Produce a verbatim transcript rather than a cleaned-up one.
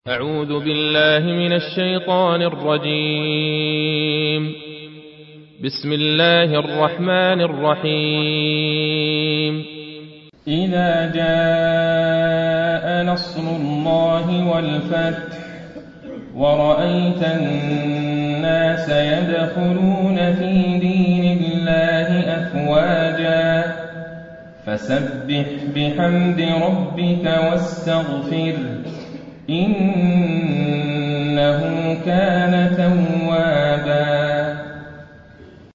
أعوذ بالله من الشيطان الرجيم. بسم الله الرحمن الرحيم. إذا جاء نصر الله والفتح ورأيت الناس يدخلون في دين الله أفواجا فسبح بحمد ربك واستغفر إنه كان توابا.